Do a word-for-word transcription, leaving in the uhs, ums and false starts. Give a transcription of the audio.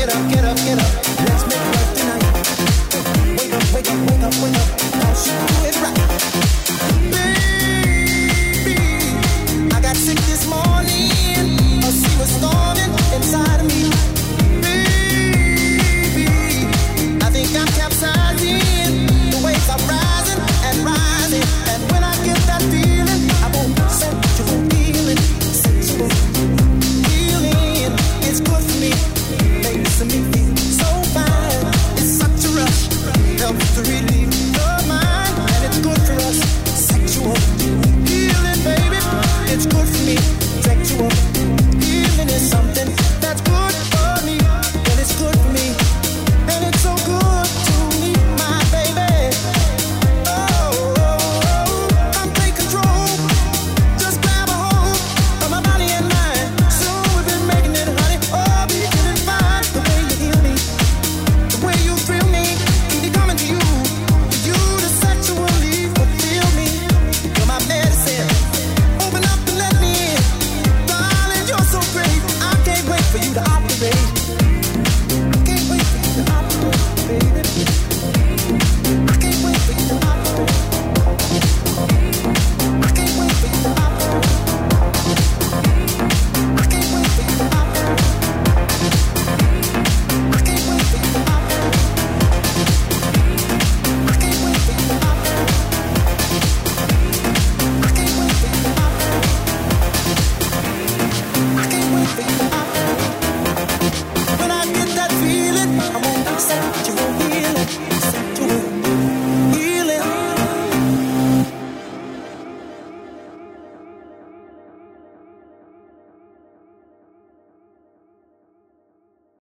get up, get up, get up. Let's make love tonight. Wake up, wake up, wake up, wake up. Now she do it right. Baby, I got sick this morning. Oh, she was storming inside of me. Baby, I think I'm capsizing. The waves are rising and rising. And when I get that feeling, I won't set you feel it. Sensual feeling, it's good for me. Makes me feel so fine. It's such a rush, helps to relieve.